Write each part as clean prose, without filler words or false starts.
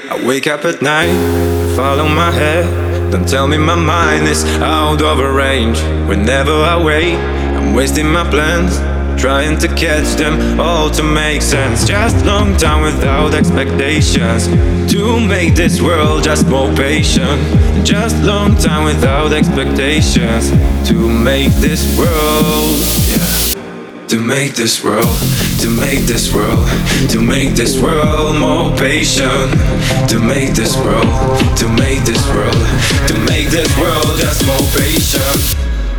I wake up at night, follow my head. Don't tell me my mind is out of range. Whenever I wait, I'm wasting my plans, trying to catch them all to make sense. Just long time without expectations, to make this world just more patient. Just long time without expectations, to make this world, yeah. To make this world, to make this world, to make this world more patient. To make this world, to make this world, to make this world just more patient.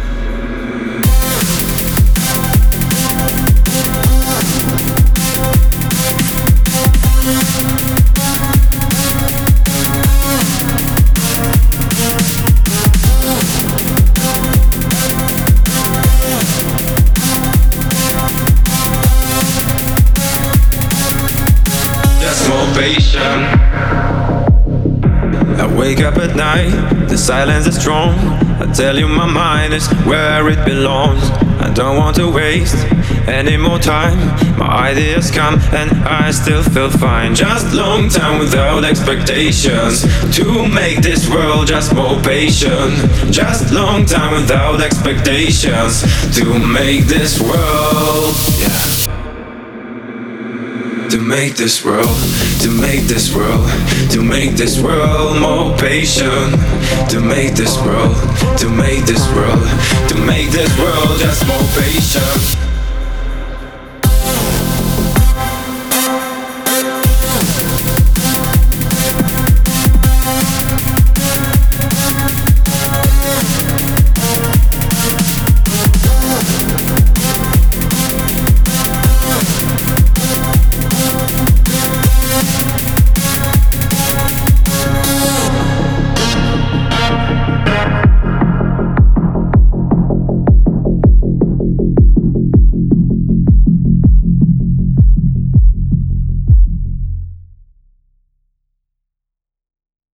Patient. I wake up at night, the silence is strong. I tell you my mind is where it belongs. I don't want to waste any more time. My ideas come and I still feel fine. Just long time without expectations, to make this world just more patient. Just long time without expectations, to make this world, yeah. To make this world, to make this world, to make this world more patient. To make this world, to make this world, to make this world just more patient.